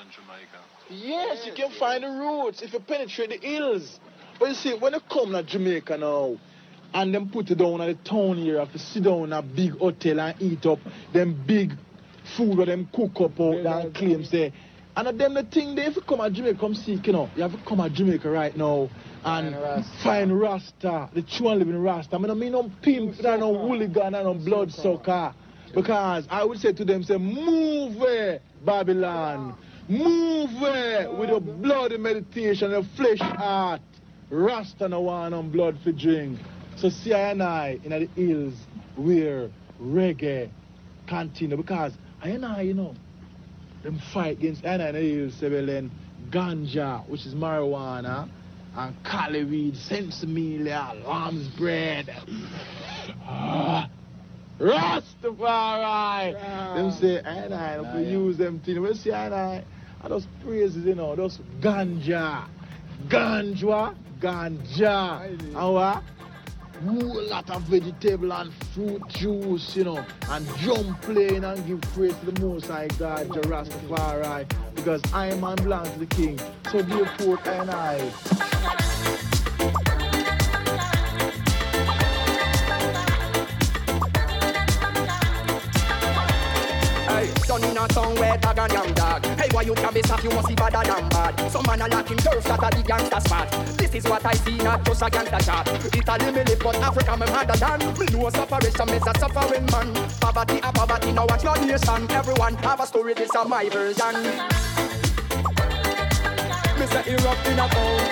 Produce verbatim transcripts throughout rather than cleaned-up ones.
Jamaica. Yes, yes, you can find the roots if you penetrate the hills. But you see, when you come to Jamaica now, and them put it down at the town here, if you sit down in a big hotel and eat up them big food where them cook up out yeah, and claim say. And them the thing they if you come to Jamaica, come seek, you know, you have to come to Jamaica right now and Rasta. find Rasta, the true living Rasta. I mean, I mean no pimp, no, no hooligan, no bloodsucker. Because I would say to them, say, move where, Babylon. Move where with your bloody meditation, your flesh heart. Rasta no one on blood for drink. So see I and I in the hills where reggae continue. Because I and I, you know, them fight against I and I in the hills, say, well, then, ganja, which is marijuana, and cali weed, sensimilia, lamb's bread. Ah. Rastafari! Yeah. Them say, I and I, don't yeah, use yeah. them things. We say, I and I, I just praises, you know, just ganja. Ganja, ganja. And what? Whole lot of vegetable and fruit juice, you know, and drum playing and give praise to the Most High God, Jah Rastafari, because I am and belong to the King. So therefore, I and I. Done in a town where dog and young dog. Hey, why you can be soft, you must be better than bad. Some man a lacking turf, that are the gangster spot. This is what I see, not just a gangster shot. Italy me live, but Africa me motherland. Me know separation is a suffering man. Poverty a poverty, now watch your nation. Everyone have a story, this is my version. Me say erupt in a town.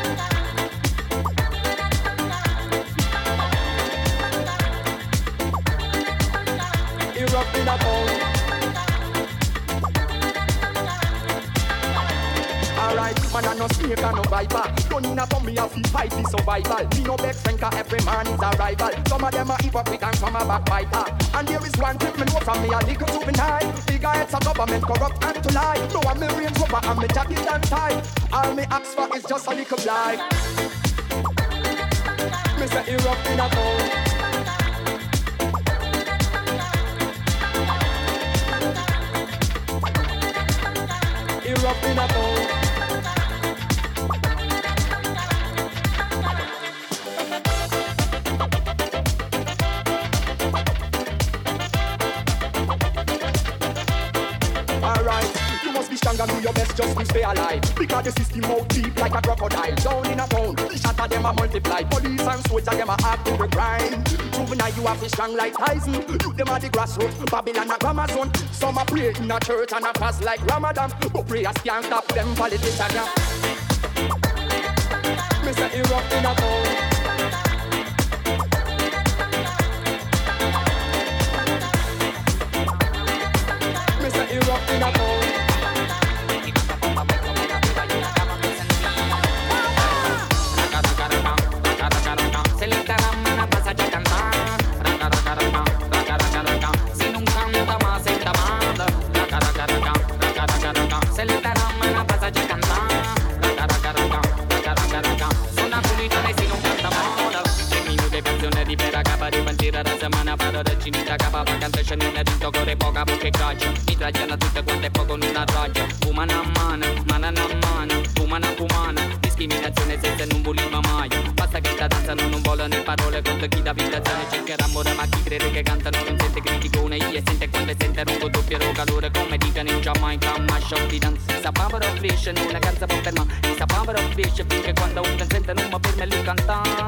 Erupt in a town. Alright, man I no snake and no viper. Don't need a come me a fi fight the survival. Me no beg friend cause every man is a rival. Some of them are hypocrite and some are backbiter. And there is one tip me know from me a little juvenile. Bigger heads of government corrupt and to lie. No one me range over and me jacket and tie. All me ask for is just a little blind. Me say erupt in a town. Erupt in a town. And do your best just to stay alive. Because the system out deep like a crocodile. Down in a town, the shot of them a multiply. Police and soldiers them a act to the crime. Juvenile you have to strong like Tyson. You them are the grassroots, Babylon a grammar zone. Some a pray in a church and a fast like Ramadan. But prayers can't stop them politicians. Me say erupt in a town. Me say erupt in a town. Cinita capa vacanze scenene tutto corre poca perché caccia mi tragiano tutte quante poco in una raggia umana a mano, mano a mano umana a umana, discriminazione senza non volima mai basta che sta danzano non vogliono parole contro chi da vibrazione cercherà amore ma chi crede che cantano non sente criticone e sente quando sente un doppio calore come dicono in Giamaica ma shorty dance sa power of fish non una canza può fermare sa power of fish finché quando uno sente non mi ferma lì cantare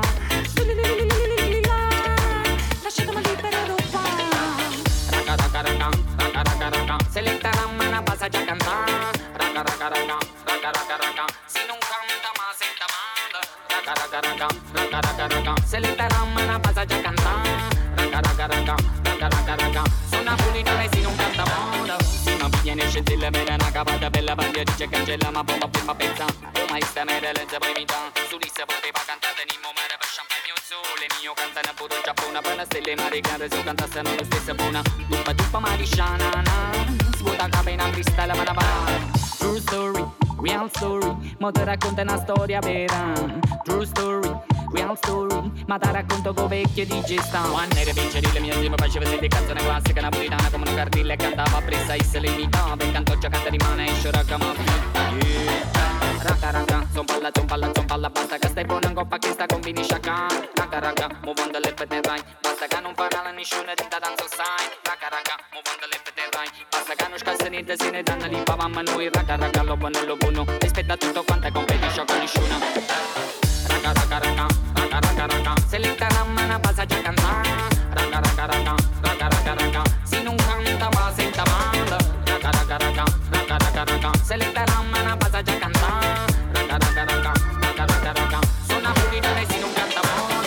lasciatemi libero qua raga raga raga raga raga raga se letta la mano basta già cantare raga raga raga raga raga raga se non canta ma senta male raga raga raga raga raga raga se letta la mano basta già cantare raga raga raga raga raga raga suona pulita lei se non canta male si ma viene scintille bene una capata bella bandia dice cancella ma bomba prima pensa oh ma sta mere lenza poi mi dà su lì se poteva cantare in momere per champagne o sole mio canta ne puto Giappone per le stelle maricare se cantasse non lo stesso buona duppa duppa marisciana svuota capa in cristallo ma va true story real story mo te racconta una storia vera true story real story. Ma ti racconto con vecchio D J sta. Quando era vincerile mia zia mi faceva sentire canzone classica napolitana come una cardilla e cantava presa e se limitava. E canto già canta rimane e scioracca ma yeah. Raga raga, zompalla zompalla zompalla, basta che stai buona in coppa che sta combini sciacca. Raga raga, muovendo le fette rai, basta che non parla nessuno di da danzo sai. Raga raga, muovendo le fette rai, basta che non scassa niente se ne danno lì pa' mamma noi. Raga raga, lo buono e lo buono, rispetta tutto quanto e competition con nessuno. Raga raga raga, raga raga raga, se l'etta ramana passa già cantare. Raga raga raga, raga raga raga, se non canta ma senta banda. Raga raga raga, raga raga raga, se l'etta ramana passa già cantare. Raga raga raga, raga raga raga, suona pure da se non canta banda.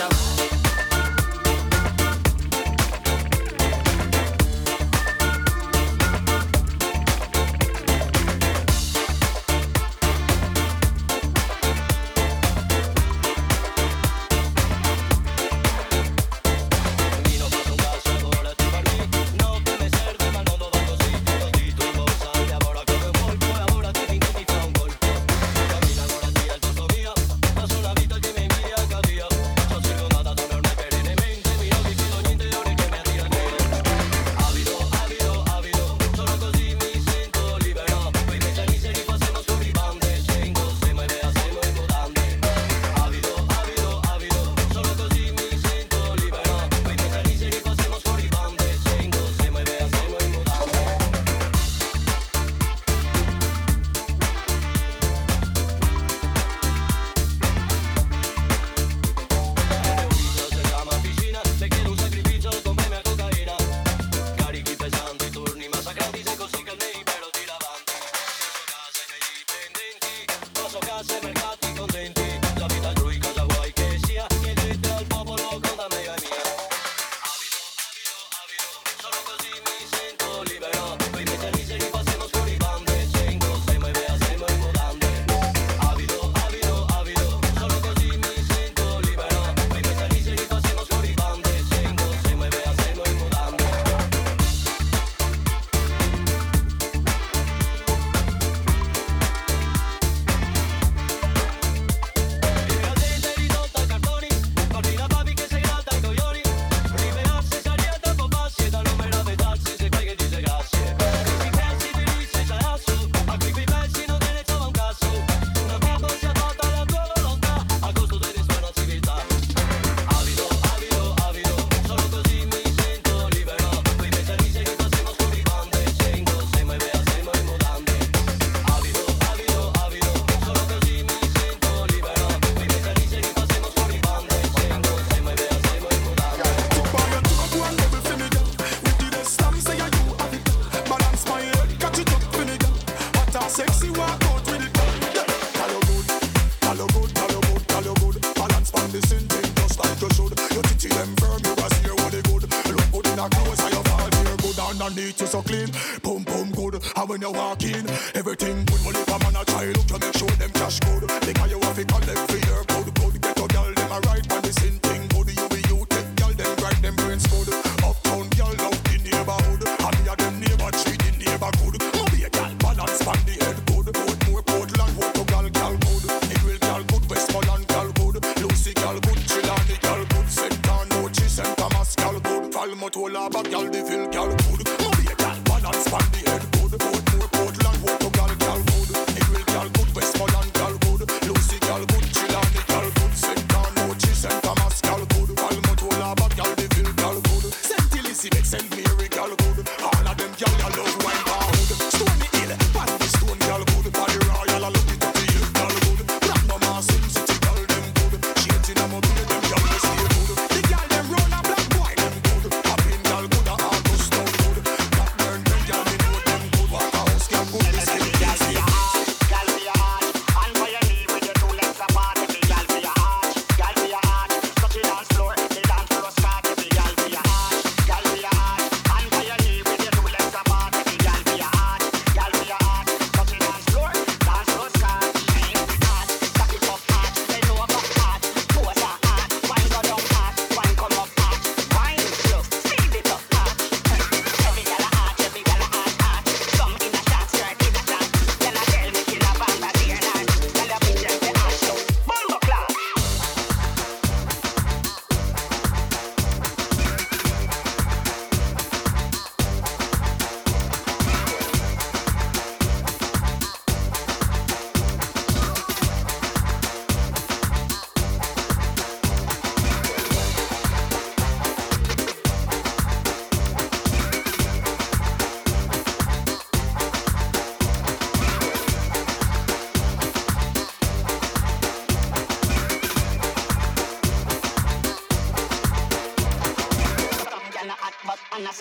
Underneath you so clean, boom boom good. And when you walk in, everything good. Well, if a man a try look to make sure them cash good. Because you have to collect for your good, good. Get a girl them a right when the sin thing good. You be you take girl them right them brains good. Uptown girl love the neighborhood, and me a them neighbor treat the neighbor good. Be a girl balance on the head good. Good more Portland, what to girl girl good. Negril girl good, Westmoreland girl good. Lucy girl good, Chilani girl good. Saint Anochi, Saint Thomas girl good. Falmouth, but girl the Ville girl good. Be a girl balance on the head good. Good more Portland, what to girl girl good.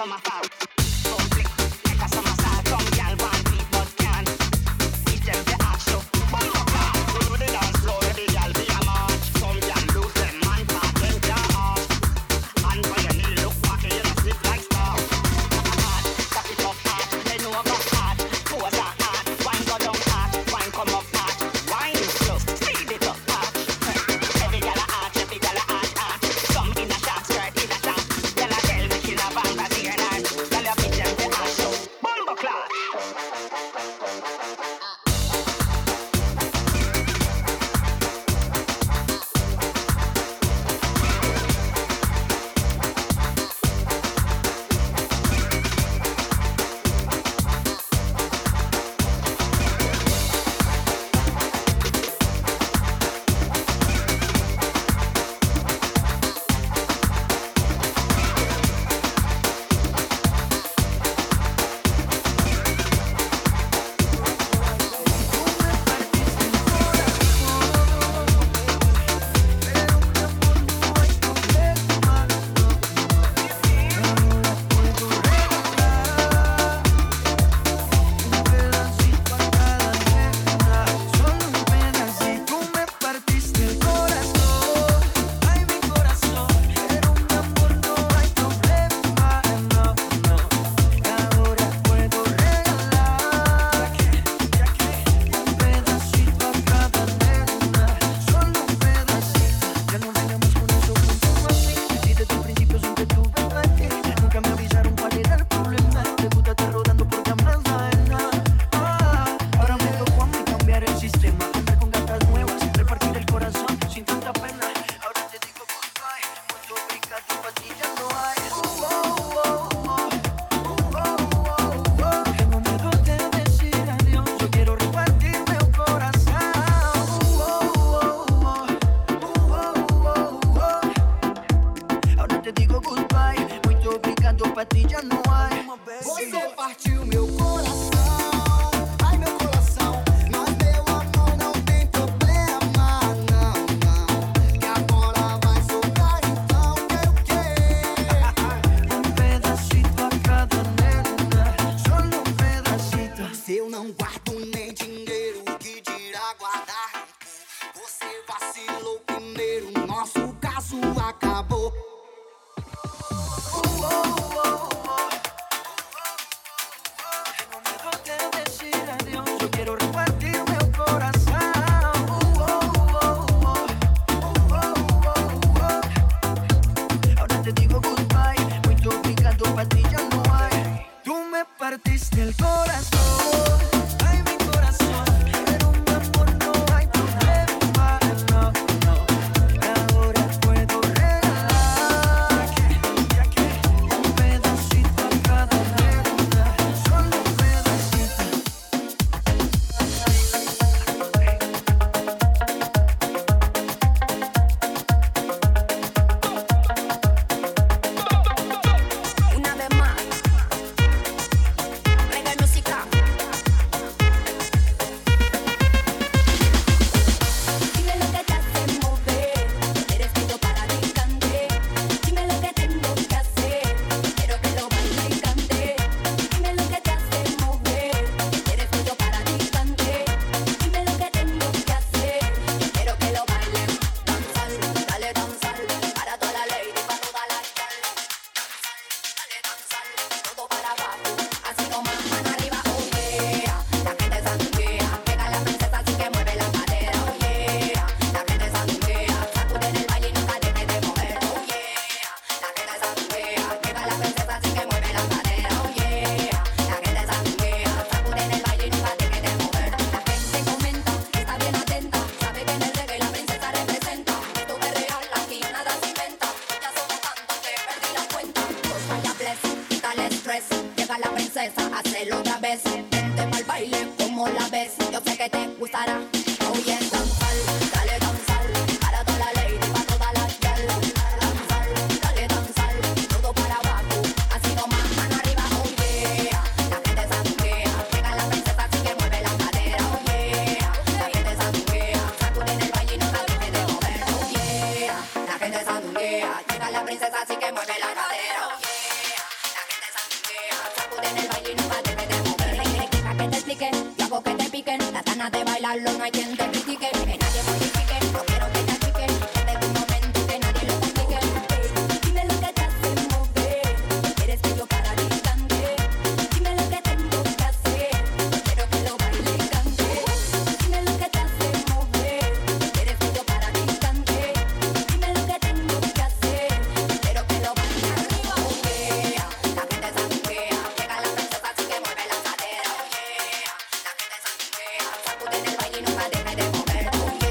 Llega la princesa así que mueve la cadera, oh yeah. La gente ganas de bailarlo, no hay quien te critique. Que nadie modifique, no quiero que te achique. Desde un momento que nadie lo complique. Dime lo que te hace mover. Quieres que yo para ti cante. Dime lo que tengo que hacer. Quiero que lo baile y cante. Dime lo que te hace mover. Quieres que yo para ti cante. Dime lo que tengo que hacer. Quiero que lo baile arriba. Oh yeah, la gente sanguea. Llega la princesa así que mueve la cadera. Oh yeah, la gente sanguea. Sacude en el baile y nunca deje de mover. Oh yeah.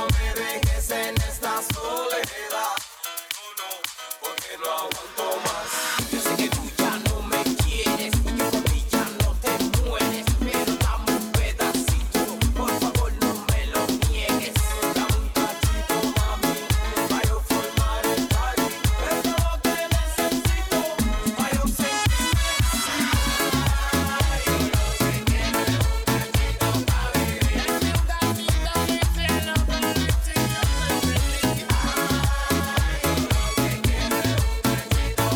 me dejes en esta soledad. No, no, porque no aguanto más. Yo sé que tú ya no me quieres, que por mí ya no te mueres, pero dame un pedacito, por favor no me lo niegues. Dame un cachito, mami, para yo formar el party. Es lo que necesito, para yo sentirme así. Yo lo que quiero es un cachito para vivir. Dame un cachito de cielo para ver si yo me feliz. Ay, yo lo que quiero es un cachito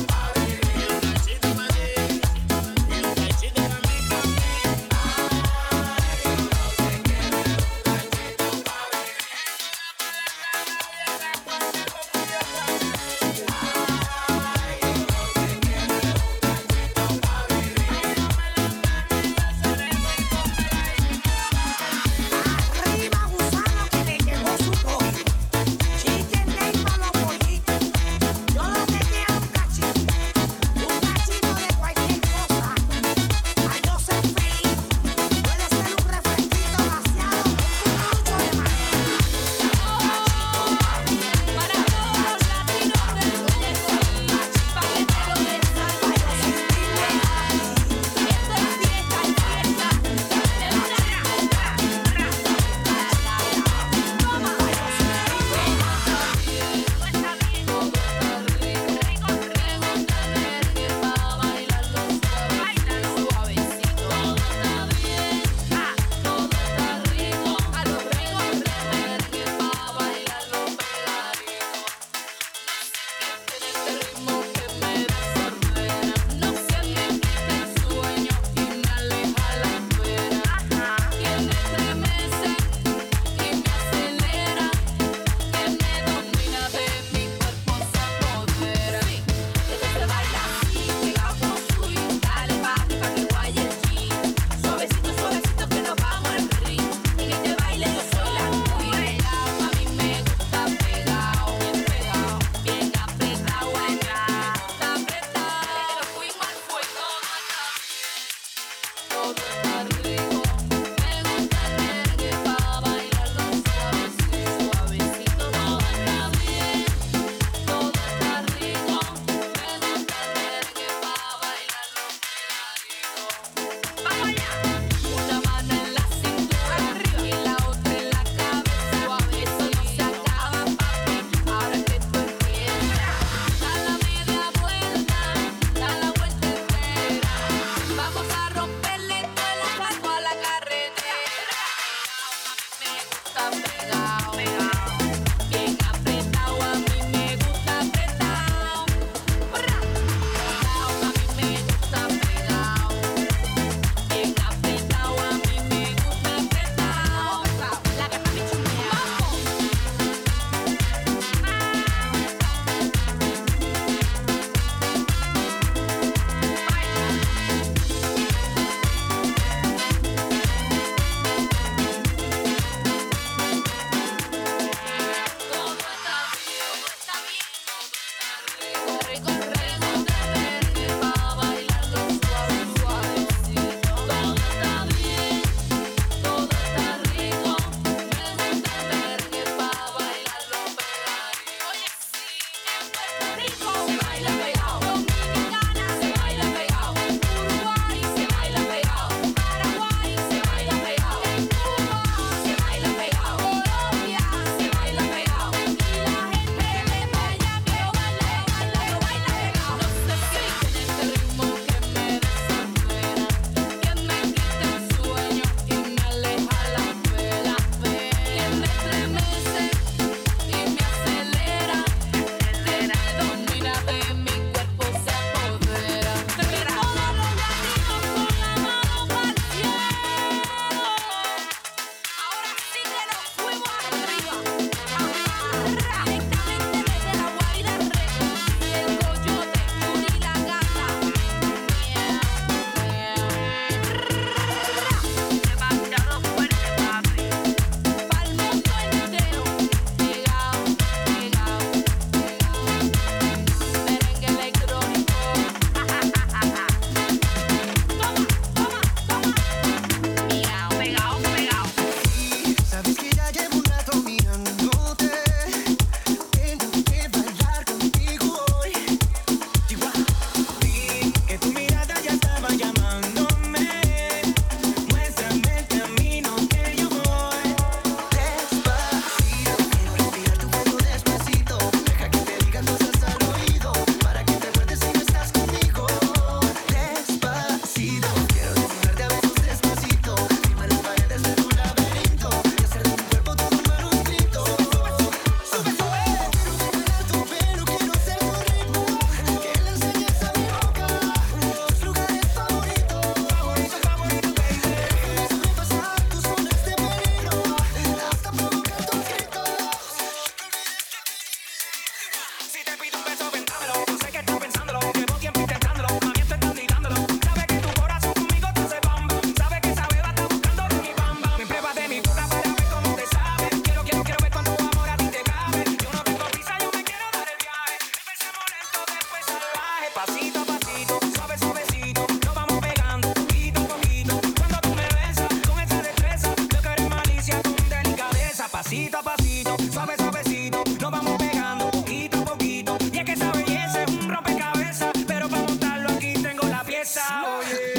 Pasito a pasito, suave, suavecito, nos vamos pegando poquito a poquito. Y es que esa belleza es un rompecabezas, pero para montarlo aquí tengo la pieza. Oye.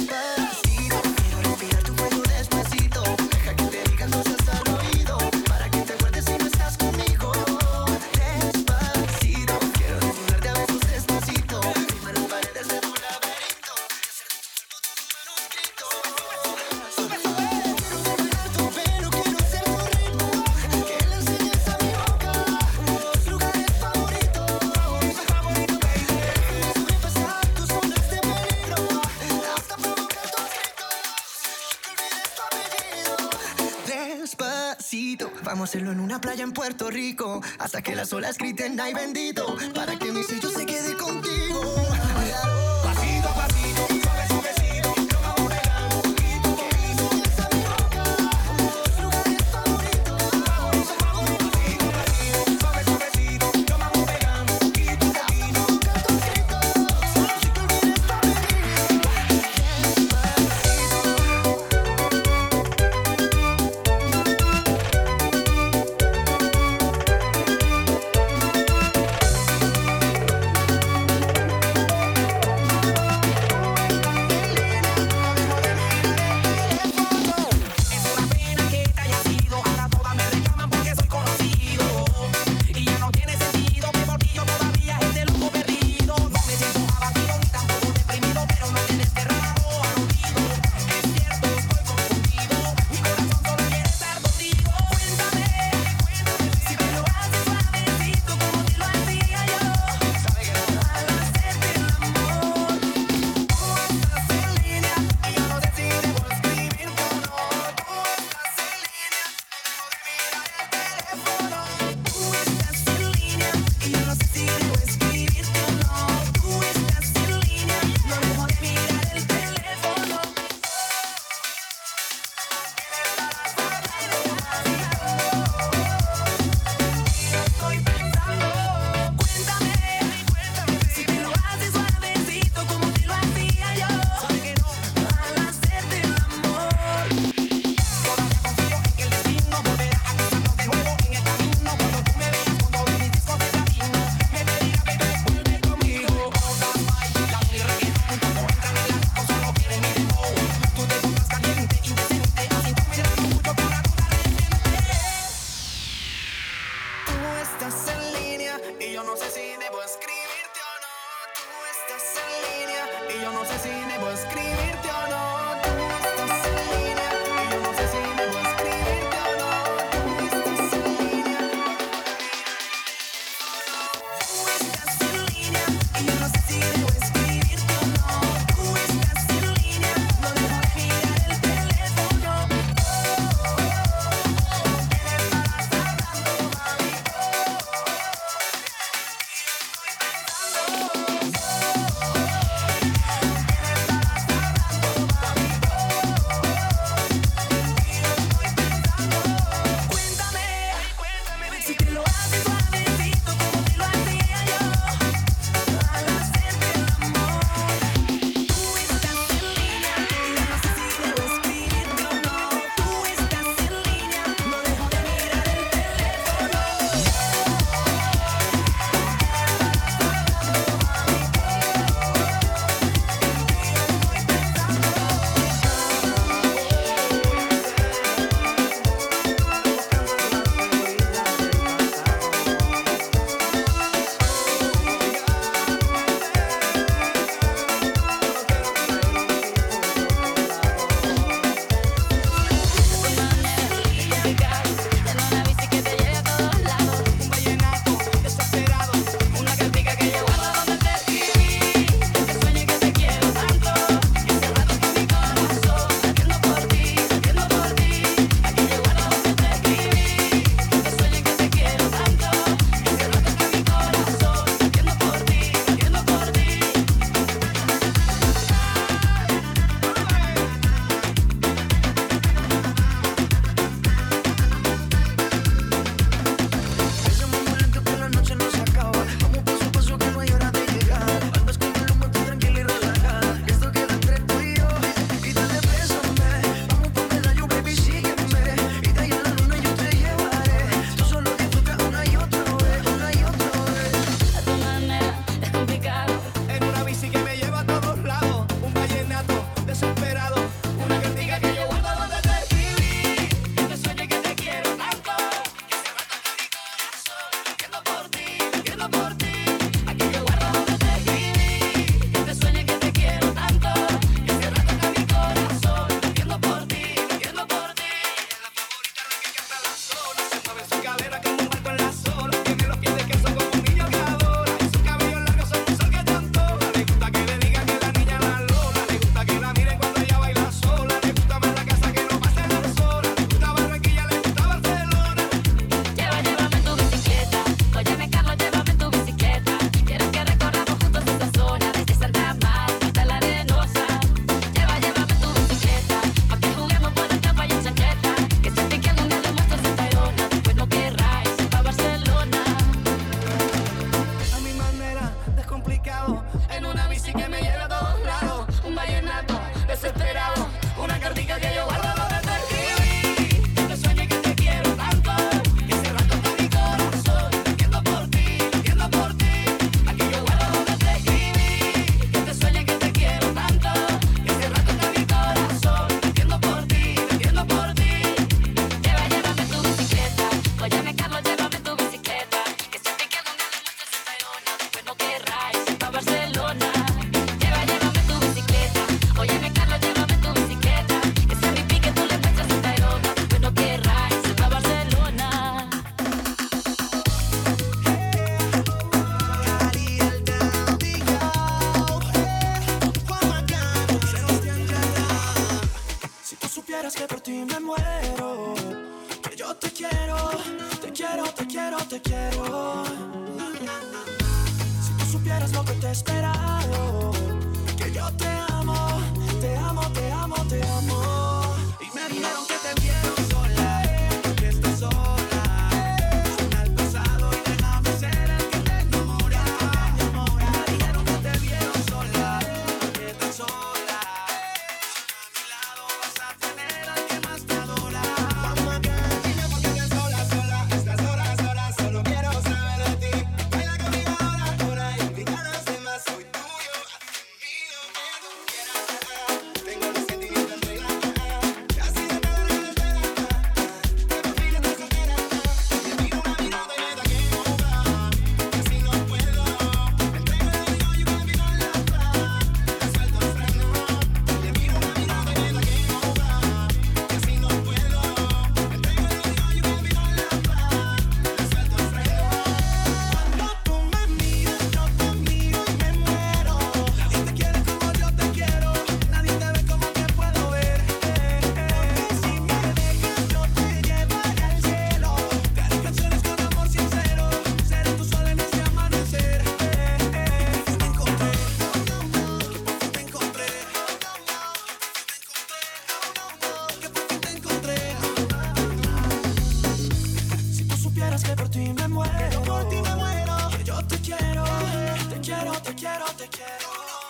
Vamos a hacerlo en una playa en Puerto Rico, hasta que las olas griten ay bendito, para que mi sello se quede contigo. Pasito a pasito, suave, suavecito, nos vamos pegando poquito a poquito. Esa mi boca, tus lugares favoritos. Favorito, favorito, pasito a pasito, suave, suavecito, nos vamos pegando poquito a poquito. Cantos gritos, si te olvides está perdido. te quiero. Si tú supieras lo que te he esperado, que yo te amo, te amo, te amo, te amo. Y me dijeron que te vieron sola, que estás sola. Suena al pasado y déjame ser el que te enamora. Me dijeron que te vieron sola, que estás sola. A mi lado vas a tener al que más te adora. Mamá, que dime por qué estás sola, sola. Estás sola, sola, solo quiero saber de ti. Baila conmigo ahora, ahora. Y mi ganas de más, soy tuyo. Conmigo, que tú quieras. Tengo los sentimientos en regla. Casi de nada que te espera. Te prefieres estar soltera. Te miro una mirada y me da que no va. Casi no puedo. Entrego el digo, you can be my lover. Le suelto el freno. Le miro una mirada y me da que no va. Casi no puedo. Entrego el digo, you can be my lover. Le suelto el freno. Cuando tú me miras, yo te miro y me muero. Nadie te quiere como yo te quiero. Nadie te ve como te puedo ver. Porque si me dejas, yo te llevaré al cielo. Te haré canciones con amor sincero. Seré tu sol en este amanecer. Que te encontré, que te encontré. Que por fin te encontré. Si tú supieras que por ti me muero, por ti me muero, que yo te quiero, te quiero, te quiero, te quiero.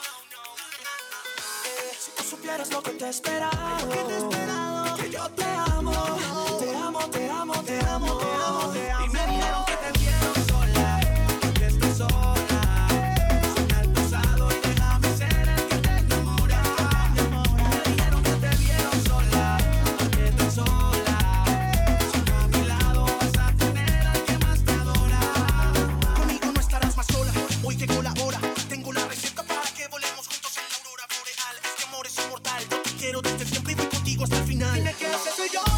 Si tú supieras lo que te he esperado, que yo te amo, te amo, te amo, te amo, te amo, te amo. Y me dijeron que te vieron sola, que estás sola. Suena al pasado y déjame ser el que te enamora. Me dijeron que te vieron sola, que estás sola. A mi lado vas a tener al que más te adora. Conmigo no estarás más sola, hoy llegó la hora. Tengo la receta para que volemos juntos en la aurora boreal. Este amor es inmortal, yo te quiero desde siempre y voy contigo hasta el final. Dime qué haces tú y yo.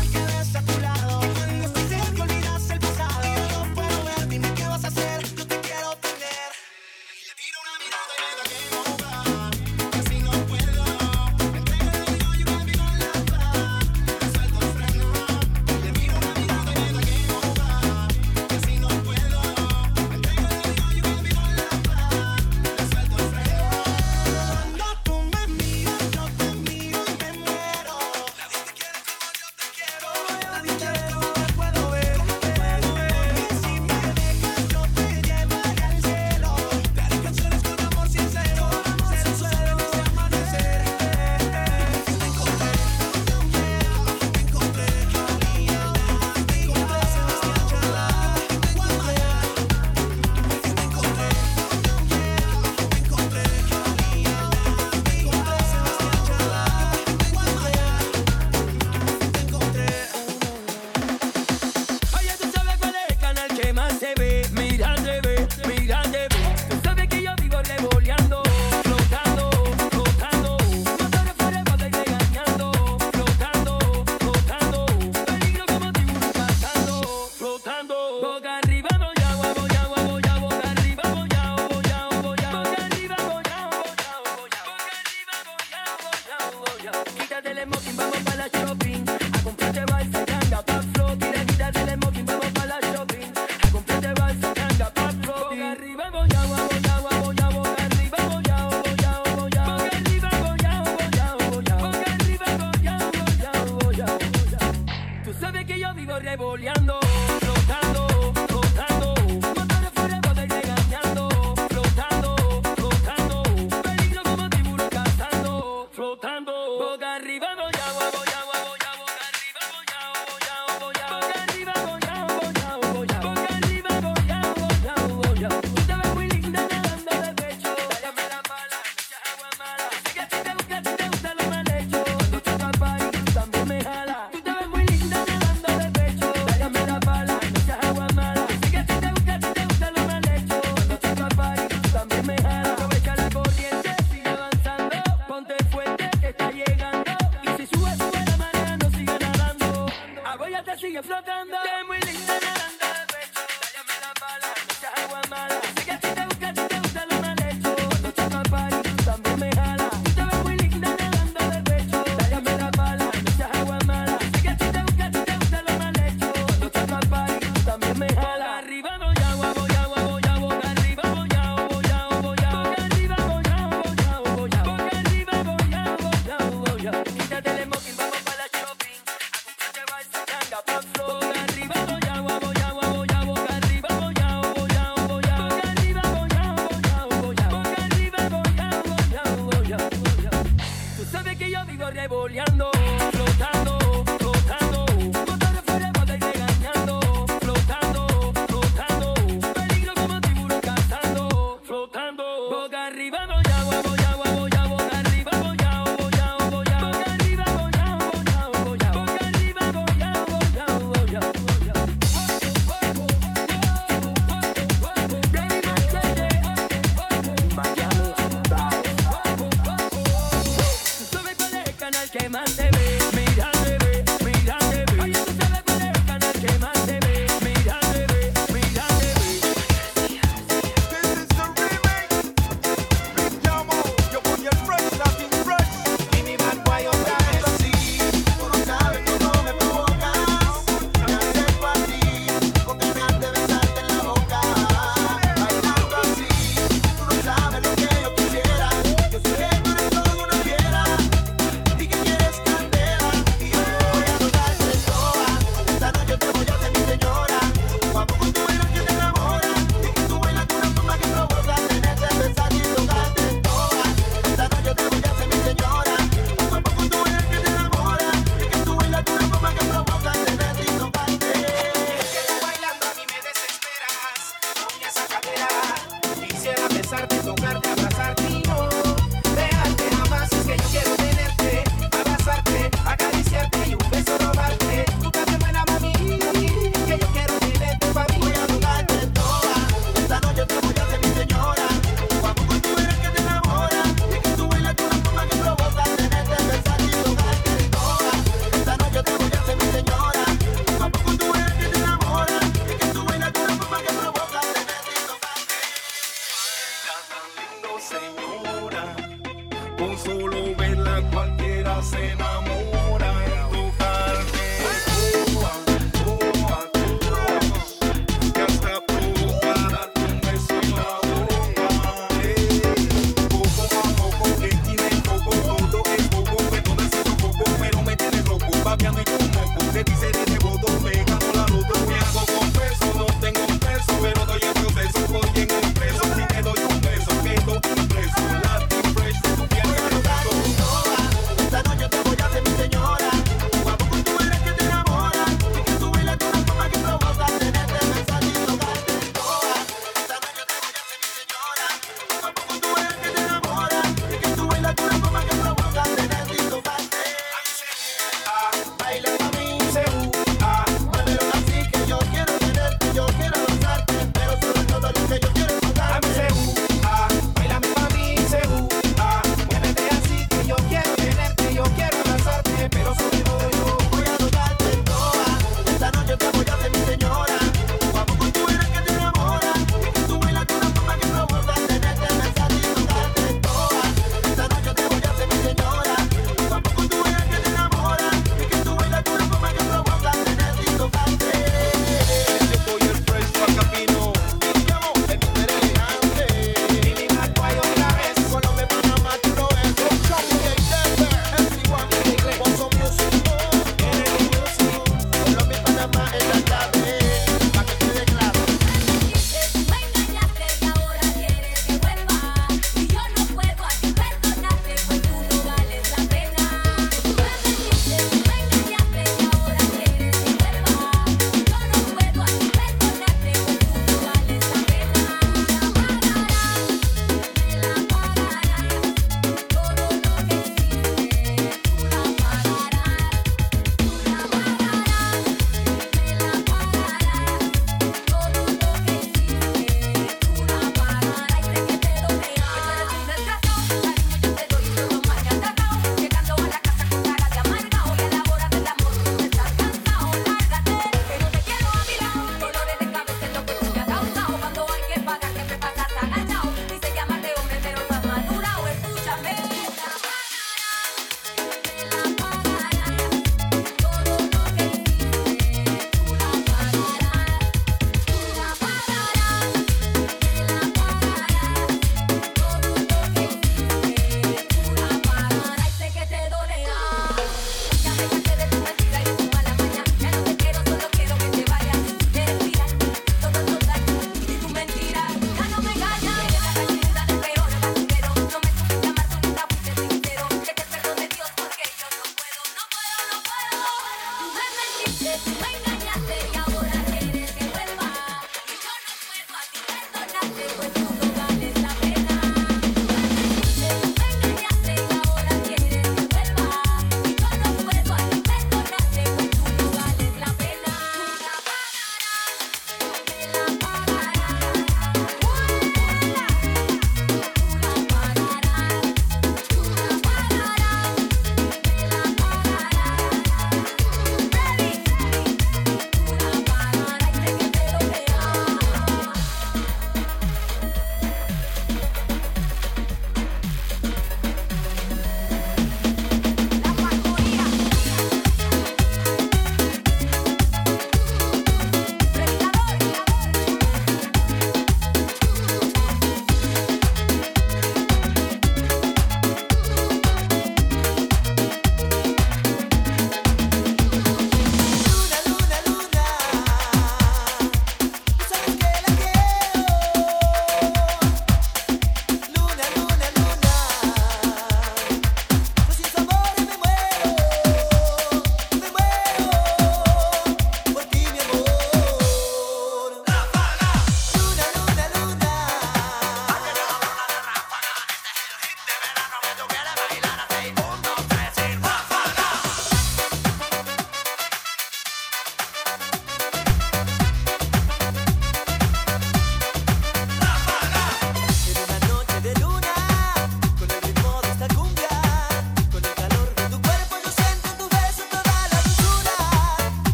besarte, tocarte, abrazarte y no dejarte jamás. Es que yo quiero tenerte, abrazarte, acariciarte y un beso robarte. Tú también buena mami, que yo quiero tenerte pa' mí. Voy a tocarte toda, esta noche te voy a hacer mi señora. Guapo contigo eres que te enamora, y que tú bailas de una forma que provoca tenerte, besarte y tocarte toda. Esta noche te voy a hacer mi señora. Guapo contigo eres que te enamora, y que tú bailas de una forma que provoca tenerte y tocarte. Tan lindo, señora.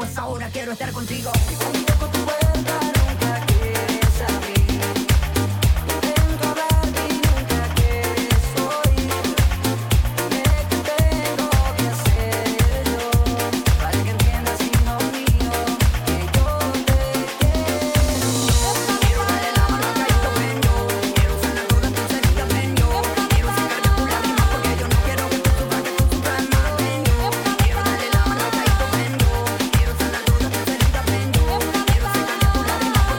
pues ahora quiero estar contigo. Un poco tu puerta nunca quieres abrir. Intento hablarte y nunca quieres oír. Dime que tengo que hacer yo para que entiendas, hijo mío, que yo te quiero. Quiero darle la mano al caído, ven yo. Quiero sanar todas tus heridas, ven yo. Quiero secarte tus lágrimas porque yo no quiero que tú sufras, que tú sufras más, ven yo. Quiero darle la mano al caído, ven yo. Quiero sanar todas tus heridas, ven yo. Quiero secarte tus lágrimas porque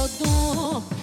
todo.